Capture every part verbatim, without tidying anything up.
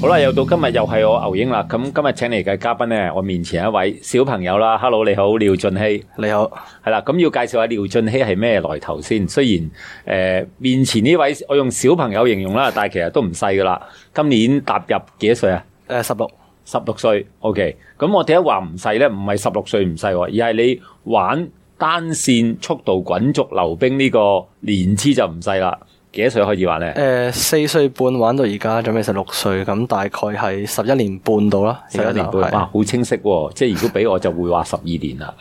好啦，又到今日又係我牛英啦。咁今日請嚟嘅嘉賓咧，我面前一位小朋友啦。Hello， 你好，廖俊熙。 你好， 係啦。咁要介紹下廖俊熙係咩來頭先。雖然誒、呃、面前呢位我用小朋友形容啦，但係其實都唔細噶啦。今年踏入幾多歲啊？ 誒，十六，十六歲。OK。咁我點解話唔細咧？唔係十六歲唔細，而係你玩單線速度滾軸溜冰呢個年資就唔細啦。幾多歲開始玩咧？ 誒，四歲半玩到而家，準備十六歲，咁大概係十一年半到啦。 十一年半，哇，好清晰喎！即係如果俾我就會話十二年啦。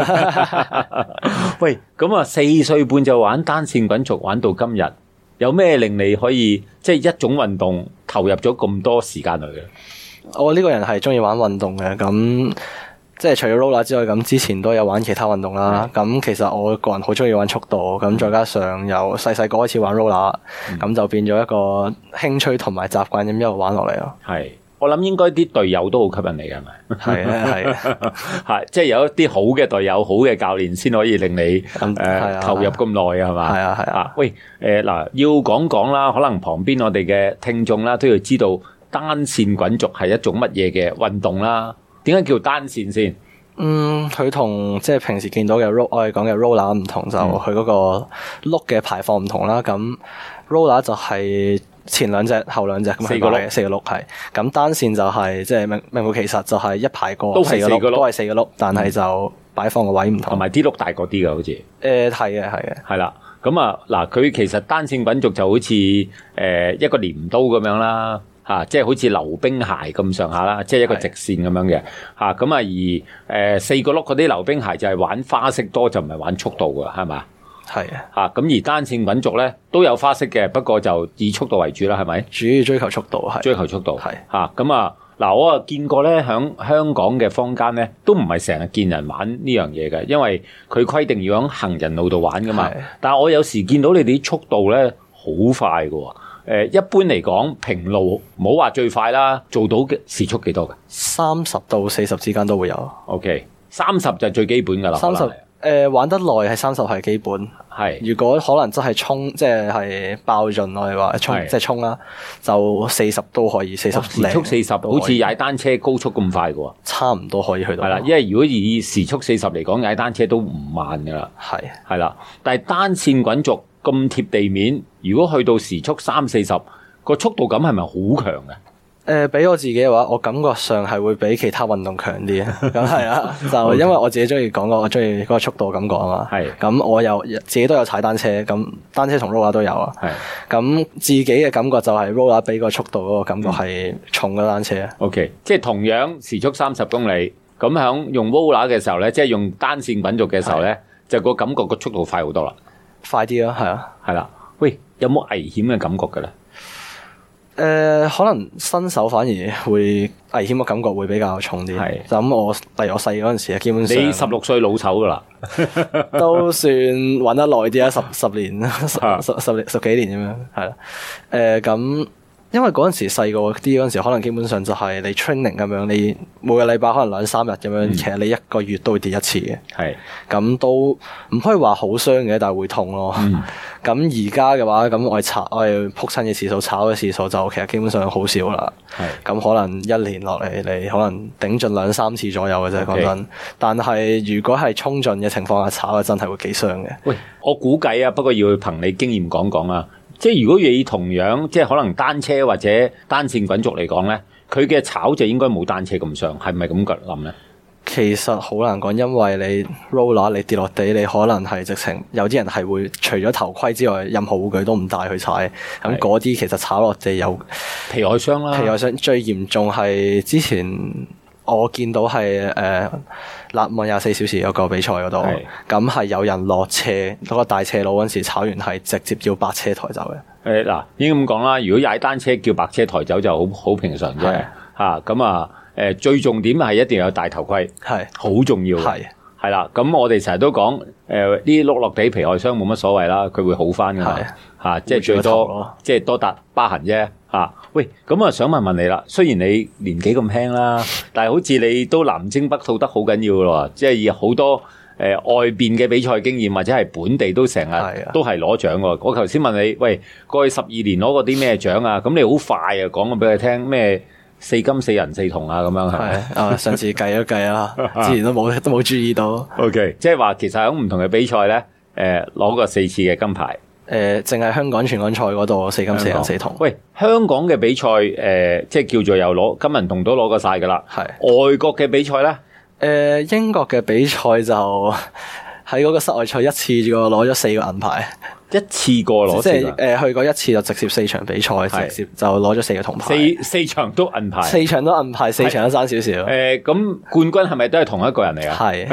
喂，咁啊，四歲半就玩單線滾軸，玩到今日，有咩令你可以即係一種運動投入咗咁多時間去嘅？ 我呢個人係中意玩運動嘅，咁。即係除咗 roller 之外，咁之前都有玩其他運動啦。咁、嗯、其實我個人好中意玩速度，咁再加上由細細個開始玩 roller，咁、嗯、就變咗一個興趣同埋習慣咁一路玩落嚟咯。 係，我諗應該啲隊友都好吸引你嘅，係咪？係啊，係啊， 係，即係有一啲好嘅隊友、好嘅教練，先可以令你誒、嗯呃、投入咁耐啊，係嘛？ 係啊，係啊。 喂，誒、呃、嗱，要講講啦，可能旁邊我哋嘅聽眾啦都要知道單線滾軸係一種乜嘢嘅運動啦。點解叫單線先？ 嗯，佢同即係平時見到嘅 roll， 我哋講嘅 roller 唔同，就佢嗰個轆嘅排放唔同啦。咁 roller 就係前兩隻、後兩隻咁四個轆，四個轆係。咁單線就係即係名名副其實，就係一排過四個轆，都係四個轆，但係就擺放嘅位唔同，同埋啲轆大個啲嘅，好似。誒，係嘅，係嘅，係啦。咁啊，嗱，佢其實單線滾軸就好似誒、呃、一個鐮刀咁樣啦。吓、啊，即係好似溜冰鞋咁上下啦，即係一個直線咁樣嘅吓，咁啊而誒、呃、四個轆嗰啲溜冰鞋就係玩花式多，就唔係玩速度噶，係咪？係啊，吓，咁而單線滾軸咧都有花式嘅，不過就以速度為主啦，係咪？主要追求速度係，追求速度係吓，咁啊嗱，我啊見過咧，響香港嘅坊間咧都唔係成日見人玩呢樣嘢嘅，因為佢規定要響行人路度玩噶嘛。但係我有時見到你哋啲速度咧好快噶。誒，一般嚟講，平路唔好話最快啦，做到嘅時速幾多嘅？三十到四十之間都會有。OK，三十就最基本噶啦。三十誒，玩得耐係三十係基本。係，如果可能真係衝，即係係爆盡我哋話衝，即係衝啦，就四十都可以，四十時速四十，好似踩單車高速咁快嘅。差唔多可以去到。係啦，因為如果以時速四十嚟講，踩單車都唔慢噶啦。係係啦，但係單線滾軸咁貼地面，如果去到時速三四十，個速度感係咪好強嘅？誒、呃，俾我自己嘅話，我感覺上係會比其他運動強啲啊。咁係啊，就因為我自己中意講過，我中意嗰個速度感覺啊嘛。係。咁我又自己都有踩單車，咁單車同 roller 都有啊。係。咁自己嘅感覺就係 roller 比個速度嗰個感覺係重嘅單車。OK， 即係同樣時速三十公里，咁響用 roller 嘅時候咧，即係用單線滾軸嘅時候咧，就個感覺個速度快好多啦。快啲咯，係啊，係啦。喂，有冇危險嘅感覺嘅咧？誒、呃，可能新手反而會危險嘅感覺會比較重啲。係，就咁我，例如我細嗰陣時啊，基本上你十六歲老手噶啦，都算玩得耐啲啊，十十年、十十十十幾年咁樣，係啦。誒、呃，咁。因為嗰陣時細個啲嗰陣時，可能基本上就係你 training 咁樣，你每個禮拜可能兩三日咁樣，嗯、其實你一個月都會跌一次嘅。係，咁都唔可以話好傷嘅，但係會痛咯。咁而家嘅話，咁我哋炒我哋撲親嘅次數、炒嘅次數就其實基本上好少啦。係，咁可能一年落嚟，你可能頂盡兩三次左右嘅啫。講真，但係如果係衝盡嘅情況下炒嘅，真係會幾傷嘅。喂，我估計啊，不過要憑你經驗講講啊。即係如果以同樣即係可能單車或者單線滾軸嚟講咧，佢嘅炒就應該冇單車咁傷，係咪咁諗咧？其實好難講，因為你 roller 你跌落地，你可能係直情有啲人係會除咗頭盔之外，任何護具都唔帶去踩。咁嗰啲其實炒落地有皮外傷啦。皮外傷最嚴重係之前我見到係誒納滿廿四小時有個比賽嗰度，咁係有人落斜嗰個大斜路嗰陣時炒完係直接叫白車抬走嘅。誒嗱，應該咁講啦，如果踩單車叫白車抬走就好好平常啫。嚇咁啊誒，最重點係一定要有戴頭盔，係好重要嘅。係係啦，咁我哋成日都講誒啲碌落地皮外傷冇乜所謂啦，佢會好翻㗎嘛。嚇，即係最多即係多笪疤痕啫。啊，喂，咁啊，想問問你啦。雖然你年紀咁輕啦，但係好似你都南征北討得好緊要嘅咯，即係有好多誒、呃、外邊嘅比賽經驗，或者係本地都成日都係攞獎嘅。我頭先問你，喂，過去十二年攞過啲咩獎啊？咁你好快啊，講咗俾佢聽咩四金四銀四銅啊咁樣係。 係啊，上次計一計啦，之前都冇都冇注意到。 OK， 即係話其實喺唔同嘅比賽咧，誒攞過四次嘅金牌。 誒，淨係香港全港賽嗰度四金四銀四銅。 喂，香港嘅比賽誒、呃，即係叫做又攞金銀銅都攞過晒噶啦。 係外國嘅比賽咧，誒、 呃，英國嘅比賽就喺嗰個室外賽一次就攞咗四個銀牌。 一次過攞， 即係誒、呃、去過一次就直接四場比賽，直接就攞咗四個銅牌， 四四場都銀牌， 四場都銀牌，四場都爭少少。 誒，咁冠軍係咪都係同一個人嚟啊？ 係，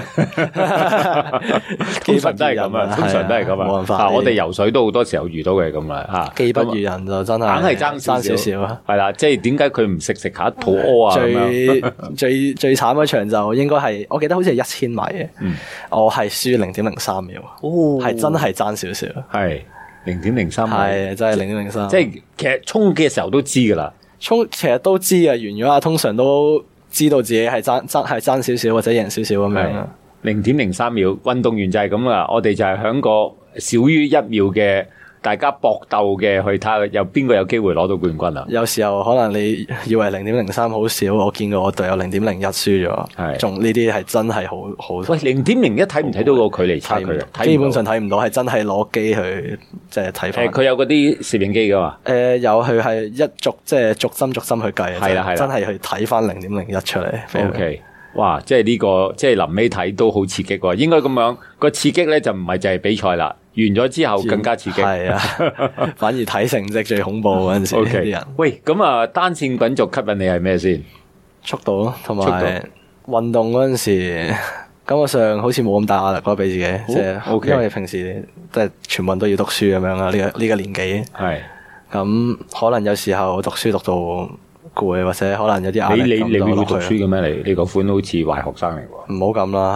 通常都係咁啊，通常都係咁啊。 冇辦法， 我哋游水都好多時候遇到嘅咁啊，吓， 技不如人就真係硬係爭爭少少啊。 係啦，即係點解佢唔食食下肚屙啊？ 最最最慘嗰場就應該係，我記得好似係一千米嘅，我係輸零點零三秒，係真係爭少少， 係。零點零三， 係真係零點零三， 即係其實衝嘅時候都知噶啦， 衝其實都知啊，完咗啊，通常都知道自己係爭爭係爭少少或者贏少少咁樣。 零點零三秒，運動員就係咁啊，我哋就係響個少於一秒嘅大家搏鬥嘅去睇下有邊個有機會攞到冠軍啊！ 有時候可能你以為零點零三好少，我見過我隊友零點零一輸咗，係仲呢啲係真係好好。喂， 零點零一睇唔睇到個距離差距啊？ 基本上睇唔到，係真係攞機去即係睇翻。 誒，佢有嗰啲攝影機噶嘛？ 誒、呃，有，佢係一逐即係逐針逐針去計， 係啦係啦， 真係去睇翻零點零一出嚟。 O K。哇！即係呢、這個，即係臨尾睇都好刺激喎。應該咁樣個刺激咧，就唔係就係比賽啦。完咗之後更加刺激。係啊， 反而睇成績最恐怖嗰陣時啲、okay. 人。 喂，咁啊，單線滾軸吸引你係咩先？ 速度咯，同埋運動嗰陣時，感覺上好似冇咁大壓力咯，俾自己。即係、哦 okay. 因為平時即係全部都要讀書咁樣啊。呢、這個呢、這個年紀係咁，可能有時候讀書讀到攰，或者可能有啲壓力。你你你會讀書嘅咩？你你個款好似壞學生嚟喎。唔好咁啦，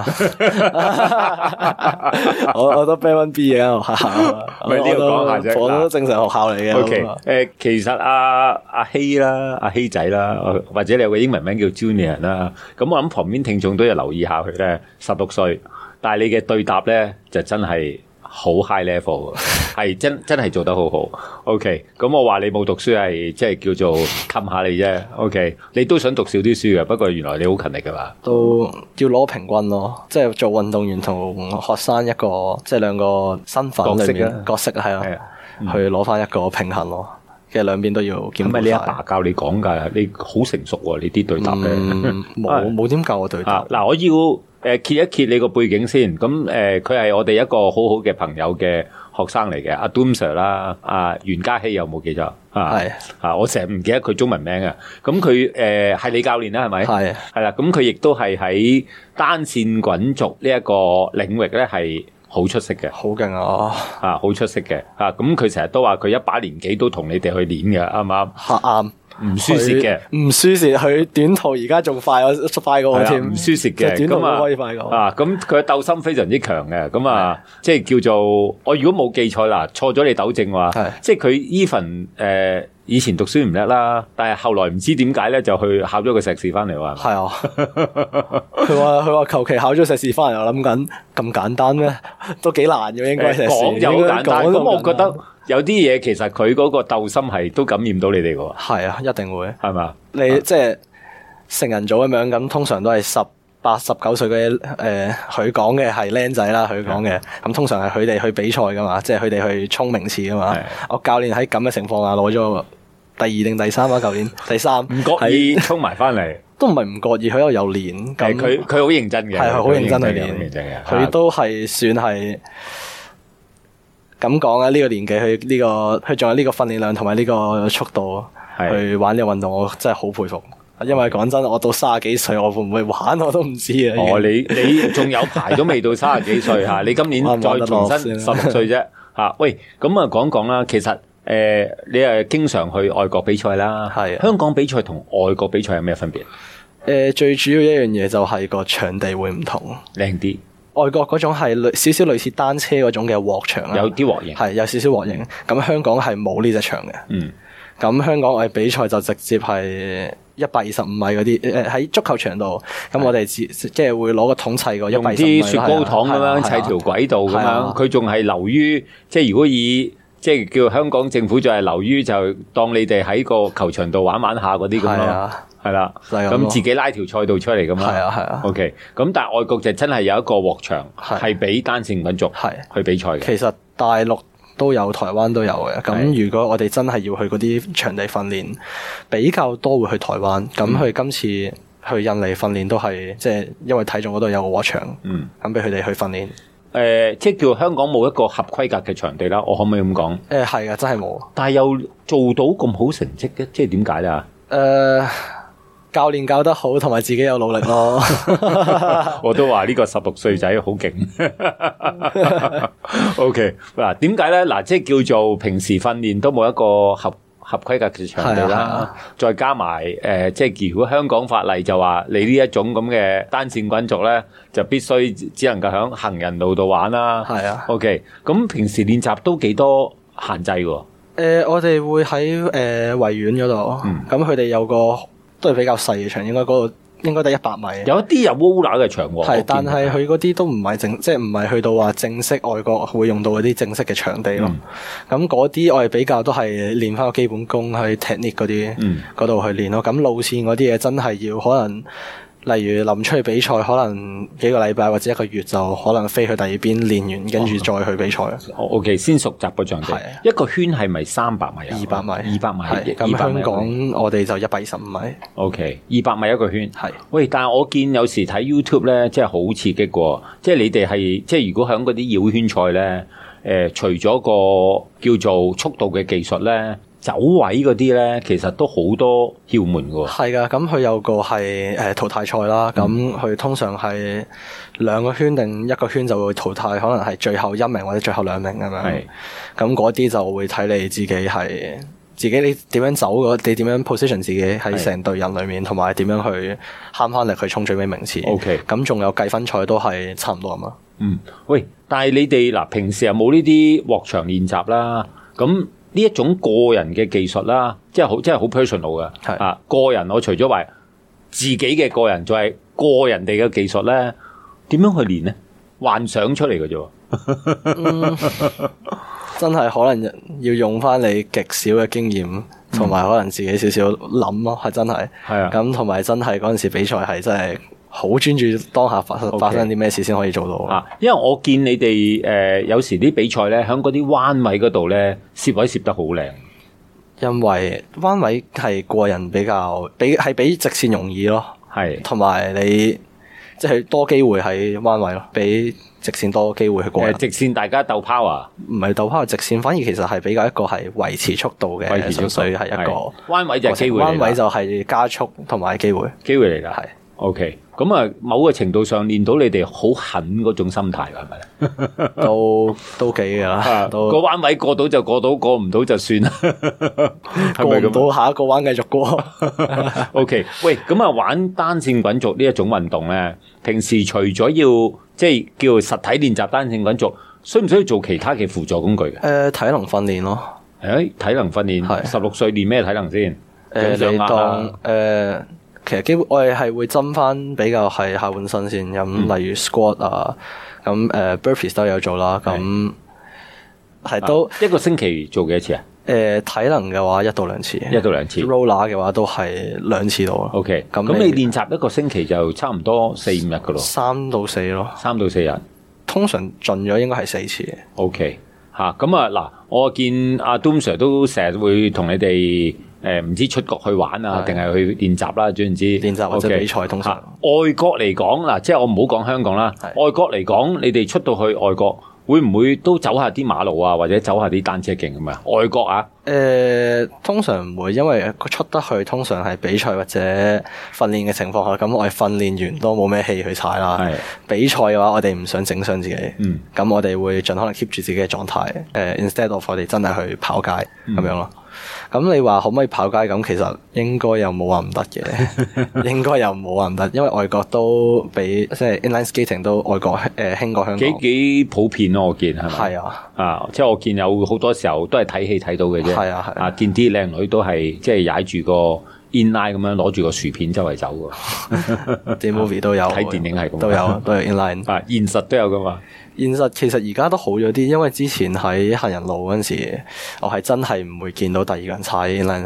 我我都 Band One B 嘅學校，唔係呢個講下啫。我都正常學校嚟嘅。O K，誒，其實阿阿希啦，阿希仔啦，或者你有個英文名叫 Junior 啦，咁我諗旁邊聽眾都要留意下佢咧，十六歲，但係你嘅對答咧就真係好 high level，係真真係做得好好。OK， 咁我話你冇讀書係即係叫做氹下你啫。OK， 你都想讀少啲書嘅，不過原來你好勤力噶嘛。都要攞平均咯，即係做運動員同學生一個即係兩個身份裏面角色係啊，去攞翻一個平衡咯。其實兩邊都要兼顧。咁咪你阿爸教你講噶，你好成熟喎，你啲對答咧。冇冇點教我對答。嗱，我要。誒，揭一揭你個背景先，咁誒，佢係我哋一個好好嘅朋友嘅學生嚟嘅，阿 Doom Sir 啦，阿袁嘉熙有冇記錯？係啊，我成日唔記得佢中文名啊。咁佢誒係你教練啦，係咪？係係啦，咁佢亦都係喺單線滾軸呢一個領域咧，係好出色嘅，好勁啊！啊，好出色嘅，啊，咁佢成日都話佢一把年紀都同你哋去練嘅，啱唔啱？啱。唔輸蝕嘅，唔輸蝕，佢短途而家仲快我快過我添，唔輸蝕嘅，短途都可以快過啊！咁佢嘅鬥心非常之強嘅，咁啊，即係叫做我如果冇記錯啦，錯咗你糾正話，即係佢 even 誒以前讀書唔叻啦，但係後來唔知點解咧就去考咗個碩士翻嚟話，係啊，佢話佢話求其考咗碩士翻嚟，我諗緊咁簡單咩？都幾難嘅，應該講就好簡單，咁我覺得。有啲嘢其實佢嗰個鬥心係都感染到你哋嘅喎，係啊，一定會，係嘛？你即係成人組咁樣，咁通常都係十八、十九歲嘅誒，佢講嘅係僆仔啦，佢講嘅，咁通常係佢哋去比賽噶嘛，即係佢哋去衝名次噶嘛。我教練喺咁嘅情況下攞咗第二定第三啊，舊年第三，唔覺意衝埋翻嚟，都唔係唔覺意，佢又有練，咁佢佢好認真嘅，係好認真去練，佢都係算係。咁講啊，呢、這個年紀去呢、這個，佢仲有呢個訓練量同埋呢個速度去玩呢個運動，我真係好佩服。因為講真，我到卅幾歲，我會唔會玩我都唔知啊。哦，你你仲有排都未到卅幾歲吓，你今年再重新十六歲啫吓。喂，咁啊講講啦，其實誒、呃，你係經常去外國比賽啦，係香港比賽同外國比賽有咩分別？誒、呃，最主要一樣嘢就係個場地會唔同，靚啲。外國嗰種係類少少類似單車嗰種嘅鑊場啦，有啲鑊型，係有少少鑊型。咁香港係冇呢隻場嘅。嗯。咁香港我哋比賽就直接係一百二十五米嗰啲，誒喺足球場度。咁我哋即係會攞個桶砌個一百二十五米。用啲雪糕糖咁樣砌條軌道咁樣，佢仲係流於即係如果以即係叫香港政府就係流於就當你哋喺個球場度玩玩下嗰啲咁咯。係係啦， 就係咁咯咁自己拉條賽道出嚟咁啦。 係啊係啊。 OK，咁但係外國就真係有一個鑊場係係俾單線滾軸係去比賽嘅。 其實大陸都有，台灣都有嘅。 係咁如果我哋真係要去嗰啲場地訓練，比較多會去台灣。咁佢今次去印尼訓練都係即係因為睇中嗰度有個鑊場， 嗯， 咁俾佢哋去訓練。 誒、呃，即係叫香港冇一個合規格嘅場地啦，我可唔可以咁講？ 誒係啊，真係冇。 但係又做到咁好成績嘅，即係點解咧？誒、 呃，教練教得好，同埋自己有努力咯。 我都話呢個十六歲仔好勁。OK， 嗱，點解咧？嗱，即係叫做平時訓練都冇一個合合規格嘅場地啦， 啊、 再加埋誒、呃，即係如果香港法例就話你呢一種咁嘅單線滾軸咧，就必須只能夠喺行人路度玩啦。 係啊。 OK，咁平時練習都幾多限制喎？誒、 呃，我哋會喺誒維園嗰度，咁佢哋有個都係比較細嘅場，應該嗰度應該得一百米。 有一啲有 roller 嘅場喎， 係，但係佢嗰啲都唔係正，即係唔係去到話正式外國會用到嗰啲正式嘅場地咯。咁嗰啲我哋比較都係練翻個基本功，去 technique 嗰啲嗰度去練咯。咁路線嗰啲嘢真係要可能。例如臨出去比賽，可能幾個禮拜或者一個月就可能飛去第二邊練完，跟住再去比賽。 哦 O K， 先熟習個場地。一個圈係咪三百米啊？ 二百米， 二百米。 咁香港我哋就一百二十五米。 O K， 二百米一個圈。 係。 喂，但係我見有時睇 YouTube 咧，即係好刺激喎。即係你哋係即係如果喺嗰啲繞圈賽咧，誒、呃，除咗個叫做速度嘅技術咧。走位嗰啲咧，其實都好多竅門㗎喎。 係㗎，咁佢有個係誒淘汰賽啦，咁佢、嗯、通常係兩個圈定一個圈就會淘汰，可能係最後一名或者最後兩名咁樣。係，咁嗰啲就會睇你自己係自己你點樣走嗰，你點樣 position 自己喺成隊人裏面，同埋點樣去慳翻力去衝最尾名次。 OK， 咁仲有計分賽都係差唔多咁啊。 嗯，喂，但係你哋嗱平時有冇呢啲鑊場練習啦？咁呢一種個人嘅技術啦，即係好，即係好 personal 嘅。係啊，個人我除咗話自己嘅個人，就係個人哋嘅技術咧，點樣去練咧？幻想出嚟嘅啫。 嗯，真係可能要用翻你極少嘅經驗，同埋可能自己少少諗咯，係真係。係啊，咁同埋真係嗰陣時比賽係真係。好專注當下發生發生啲咩事先可以做到啊！ 因為我見你哋誒、呃、有時啲比賽咧，喺嗰啲彎位嗰度咧，攝位攝得好靚。 因為彎位係個人比較比係比直線容易咯，係同埋你即係、就是、多機會喺彎位咯，比直線多機會去過人。 直線大家鬥 power， 唔係鬥 power，直線反而其實係比較一個係維持速度嘅，純粹係一個彎位就係機會， 彎位就係加速同埋機會， 機會嚟㗎，係。OK，咁啊，某個程度上練到你哋好狠嗰種心態，係咪咧？ 都都幾噶啦，都個彎位過到就過到，過唔到就算啦。 過唔到下一個彎繼續過。 OK，喂，咁啊，玩單線滾軸呢一種運動咧，平時除咗要即係叫實體練習單線滾軸，需唔需要做其他嘅輔助工具嘅？誒、 呃，體能訓練咯。 誒、欸，體能訓練係十六歲練咩體能先？誒、 呃，你當誒。呃其實基本我哋係會針翻比較係下半身先，咁、嗯、例如 squat 啊，咁誒、uh, burpees 都有做啦，咁係都、啊、 一個星期做幾多次啊？ 誒、呃，體能嘅話一到兩次， 一到兩次。 roller 嘅話都係兩次到咯。OK，咁咁你練習一個星期就差唔多四五日噶咯？三到四咯， 三到四日。 通常盡咗應該係四次。 OK，吓咁啊嗱，我見阿 Doom Sir 都成日會同你哋。誒，唔知出國去玩啊，定係去練習啦？總言之， 練習或者比賽通常。 外國嚟講嗱，即係我唔好講香港啦。外國嚟講，你哋出到去外國，會唔會都走下啲馬路啊，或者走下啲單車徑咁啊？外國啊？ 誒、呃，通常唔會，因為佢出得去，通常係比賽或者訓練嘅情況下，咁我哋訓練完都冇咩氣去踩啦。係比賽嘅話，我哋唔想整傷自己。嗯。咁我哋會盡可能 keep 住自己嘅狀態。誒、呃、，instead of 我哋真係去跑街咁、嗯、樣咯。咁你話可唔可以跑街？咁其實應該又冇話唔得嘅，應該又冇話唔得，因為外國都比即係 inline skating 都外國誒興過香港， 幾幾普遍咯，我見係咪？ 係啊， 啊，即係我見有好多時候都係睇戲睇到嘅啫。係啊係啊，啊見啲靚女都係即係踩住個 inline 咁樣攞住個薯片周圍走㗎。啲 movie 都有，睇電影係咁，都有都有 inline 啊，現實都有㗎嘛。 現實其實而家都好咗啲，因為之前喺行人路嗰陣時，我係真係唔會見到第二個人踩 inline。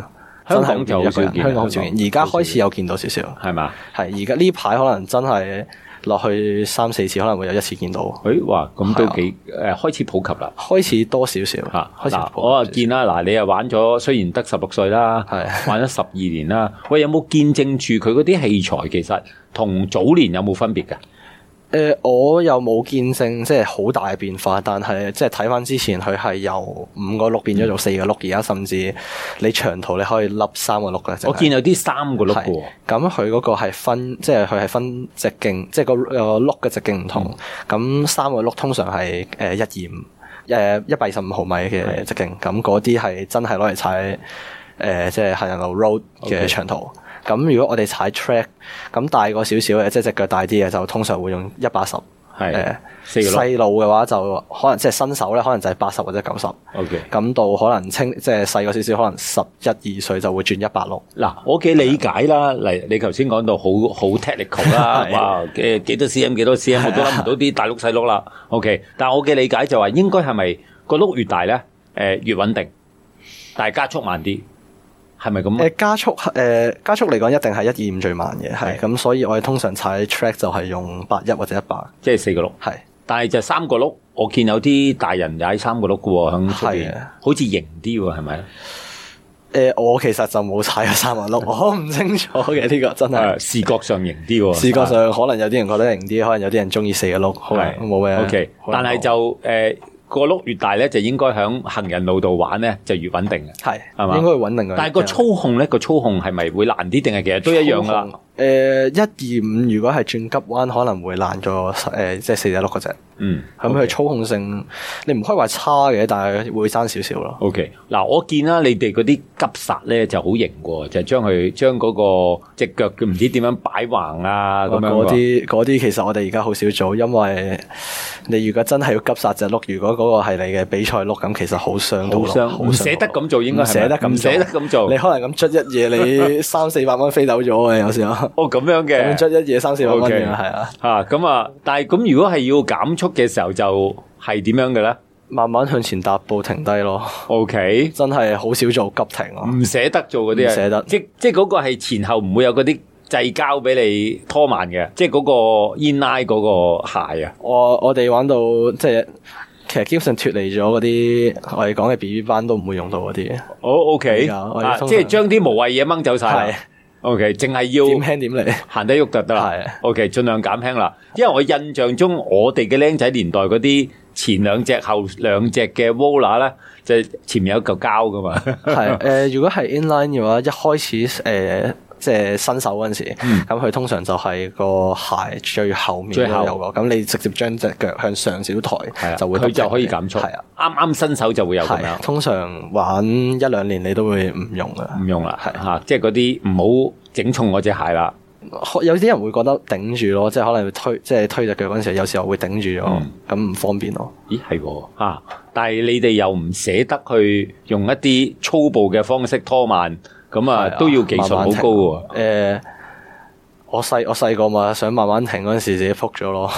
香港就好少見， 香港好少見，而家開始有見到少少， 係嘛？ 係而家呢排可能真係落去三四次，可能會有一次見到。 誒，哇，咁都幾誒開始普及啦， 開始多少少嚇。嗱，我啊見啦，嗱，你又玩咗，雖然得十六歲啦，係玩咗十二年啦，喂，有冇見證住佢嗰啲器材其實同早年有冇分別㗎？ 誒、呃，我又冇見證即係好大嘅變化，但係即係睇翻之前佢係由五個轆變咗做四個轆，而家甚至你長途你可以笠三個轆嘅。 我見有啲三個轆嘅喎。 咁佢嗰個係分，即係佢係分直徑，即係個個轆嘅直徑唔同。咁、嗯、三個轆通常係誒一二五，誒一百二十五毫米嘅直徑。咁嗰啲係真係攞嚟踩誒、呃，即係行人路 road 嘅長途。Okay. 咁如果我哋踩 track，咁大個少少嘅，即係隻腳大啲嘅，就通常會用一百十。係誒，細路嘅話就可能即係新手咧，可能就係八十或者九十。OK。咁到可能清即係細個少少，可能十一二歲就會轉一百六。嗱，我嘅理解啦，嚟你頭先講到好好 technical 啦，哇，嘅幾多 cm 幾多 cm，我都諗唔到啲大碌細碌啦。OK，但係我嘅理解就話應該係咪個碌越大咧，誒越穩定，但係加速慢啲。係咪咁？誒加速誒、呃、加速嚟講，一定係一二五最慢嘅，係咁，所以我哋通常踩 track 就係用八一或者一百， 即係四個轆。係，但係就三個轆，我見有啲大人踩三個轆嘅喎，響出邊，好似型啲喎，係咪？誒、 呃，我其實就冇踩過三個轆，我唔清楚嘅呢、這個真係視覺上型啲喎。 視覺上可能有啲人覺得型啲，可能有啲人中意四個轆，係冇咩。 OK，但係就誒。呃個轆越大咧，就應該喺行人路度玩咧，就越穩定嘅。係，係嘛？應該會穩定嘅。但係個操控咧，個操控係咪會難啲，定係其實都一樣噶啦？誒，一二五如果係轉急彎，可能會爛咗誒，即係四隻轆嗰隻。嗯，咁佢操控性，你唔可以話差嘅，但係會爭少少咯。OK，嗱，我見啦，你哋嗰啲急剎咧就好型喎，就係將佢將嗰個隻腳佢唔知點樣擺橫啊咁樣。嗰啲嗰啲其實我哋而家好少做，因為你如果真係要急剎隻轆，如果嗰個係你嘅比賽轆，咁其實好傷到咯，唔捨得咁做，應該唔捨得咁，唔捨得咁做。你可能咁捽一嘢，你三四百蚊飛走咗嘅，有時候。哦，咁樣嘅，咁捽一嘢三四百蚊嘅，係啊。吓咁啊，但係咁如果係要減速嘅時候，就係點樣嘅咧？慢慢向前踏步，停低咯。OK，真係好少做急停咯，唔捨得做嗰啲，唔捨得。即即係嗰個係前後唔會有嗰啲掣交俾你拖慢嘅，即係嗰個 inline 嗰個鞋啊。我我哋玩到即係。其實基本上脫離咗嗰啲我哋講嘅 B B 班都唔會用到嗰啲。好 OK，啊，即係將啲無謂嘢掹走晒。OK，淨係要點輕點嚟，行得喐就得啦。OK，盡量減輕啦。因為我印象中我哋嘅僆仔年代嗰啲前兩隻後兩隻嘅 roller 咧，就係前面有一嚿膠噶嘛。係誒、呃，如果係 inline 嘅話，一開始誒。呃即係新手嗰陣時，咁佢、嗯、通常就係個鞋最後面都有個，咁你直接將隻腳向上少抬，就會佢就可以減速。係啊，啱啱新手就會有咁樣。通常玩一兩年你都會唔用噶，唔用啦，係嚇、啊，即係嗰啲唔好整重嗰隻鞋啦。有啲人會覺得頂住咯，即係可能會推，即係推隻腳嗰陣時，有時候會頂住咗，咁唔、嗯、方便咯。咦，係喎嚇，但係你哋又唔捨得去用一啲粗暴嘅方式拖慢。咁啊，都要技術好高喎。誒、呃，我細我細個嘛，想慢慢停嗰陣時，自己撲咗咯。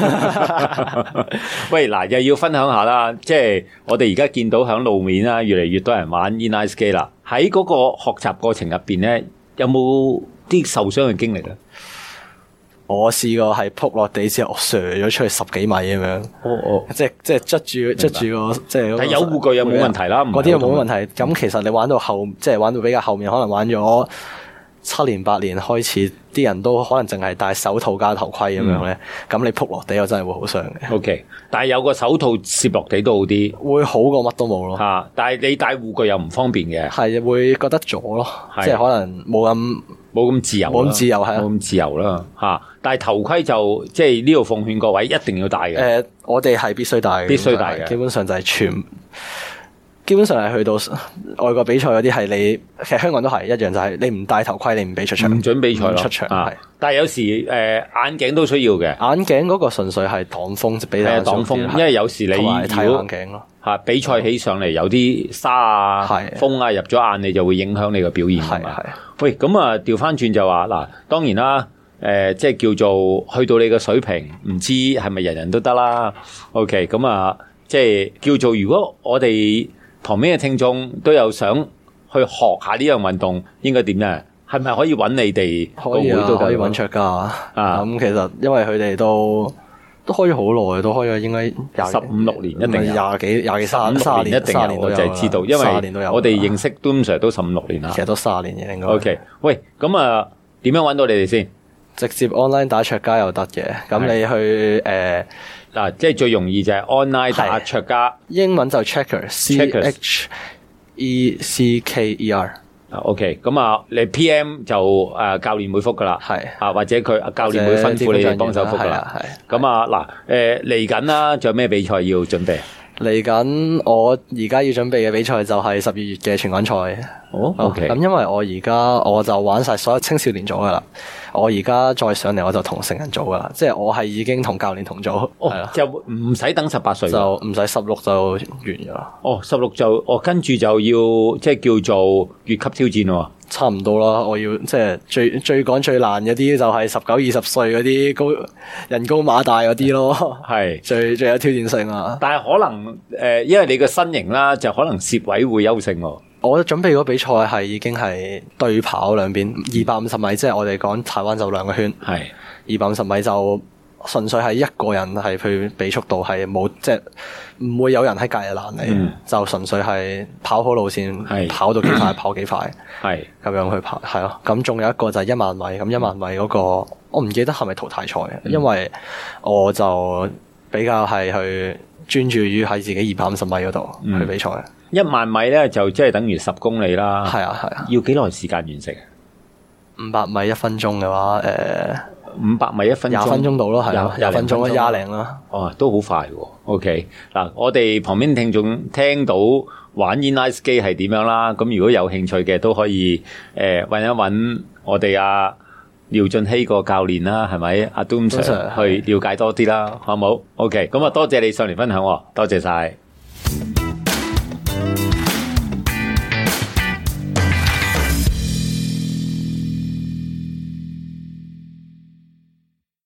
喂，嗱，又要分享下啦，即係我哋而家見到響路面啦，越嚟越多人玩 inline skate 啦。喺嗰個學習過程入邊咧，有冇啲受傷嘅經歷咧？我試過係撲落地之後，我射咗出去十幾米咁樣。哦哦，即係即係捽住捽住個即係。但係有護具又冇問題啦，嗰啲又冇問題。咁其實你玩到後，即係玩到比較後面，可能玩咗七年八年開始，啲人都可能淨係戴手套加頭盔咁樣咧。咁、嗯、你撲落地又真係會好傷嘅。O K，但係有個手套攝落地都好啲，會好過乜都冇咯。吓，但係你戴護具又唔方便嘅，係會覺得阻咯，即係可能冇咁。冇咁自由，冇咁自由係冇咁自由啦嚇。但係頭盔就即係呢度奉勸各位一定要戴嘅。誒、呃，我哋係必須戴嘅，必須戴嘅。基本上就係全，基本上係去到外國比賽嗰啲係你，其實香港都係一樣，就係、是、你唔戴頭盔，你唔俾出場，唔準比賽出場。係，但係有時誒、呃、眼鏡都需要嘅。眼鏡嗰個純粹係擋風，俾你擋風，因為有時你睇眼鏡咯。嚇，比賽起上嚟有啲沙啊、風啊入咗眼，你就會影響你個表現㗎嘛。喂，咁啊調翻轉就話嗱，當然啦，誒、呃、即係叫做去到你嘅水平，唔知係咪人人都得啦。OK，咁啊，即係叫做如果我哋旁邊嘅聽眾都有想去去學下呢樣運動，應該點咧？係咪可以揾你哋個會都可以揾卓家啊？咁其實因為佢哋都都開咗好耐，都開咗應該十五六年，一定廿幾廿幾三三年， 一定有。我就係知道，因為我哋認識都 Sir 都十五六年啦， 其實都卅年嘅應該。 OK， 喂，咁啊，點樣揾到你哋先？ 直接 online 打卓家又得嘅，咁你去誒嗱，即係最容易就係 online 打卓家， 英文就 checker，C H E C K E R。 啊 OK， 咁啊，你 P M 就誒、呃、教練會覆噶啦， 係啊或者佢教練會吩咐你哋幫手覆噶啦，係。咁啊嗱，誒嚟緊啦，仲有咩比賽要準備？ 嚟緊我而家要準備嘅比賽就係十二月嘅全港賽。 哦 OK， 咁因為我而家我就玩晒所有青少年組噶啦，我而家再上嚟我就同成人組噶啦，即係我係已經同教練同組， 哦，就唔使等十八歲， 就唔使十六就完噶啦。 哦，十六就哦跟住就要即係叫做越級挑戰喎。 差唔多啦，我要即係最最趕最難嗰啲就係十九二十歲嗰啲高人高馬大嗰啲咯，係最最有挑戰性啊！ 但係可能誒、呃，因為你個身形啦，就可能攝位會優勝喎。 我準備嗰比賽係已經係對跑兩邊二百五十米，即係我哋講台灣就兩個圈，係二百五十米就純粹係一個人係去比速度，係冇即係唔會有人喺隔籬攔你，嗯、就純粹係跑好路線，跑到幾快跑幾快，係咁樣去跑，係咯。咁仲有一個就係一萬米，咁一萬米嗰、嗰個我唔記得係咪淘汰賽，嗯、因為我就比較係去專注於喺自己二百五十米嗰度去比賽。 一萬米咧就即係等於十公里啦，係啊係啊，要幾耐時間完成？ 五百米一分鐘嘅話，誒、呃， 五百米一分鐘， 廿分鐘到咯，係啊，廿分鐘啦，廿零啦， 哦，都好快喎。OK，嗱，我哋旁邊聽眾聽到玩 inline skate 係點樣啦，咁如果有興趣嘅都可以誒搵、呃、一搵我哋阿廖俊熙個教練啦，係咪阿 Doom Sir 去了解多啲啦，好冇？OK，咁啊多謝你上嚟分享，多謝晒。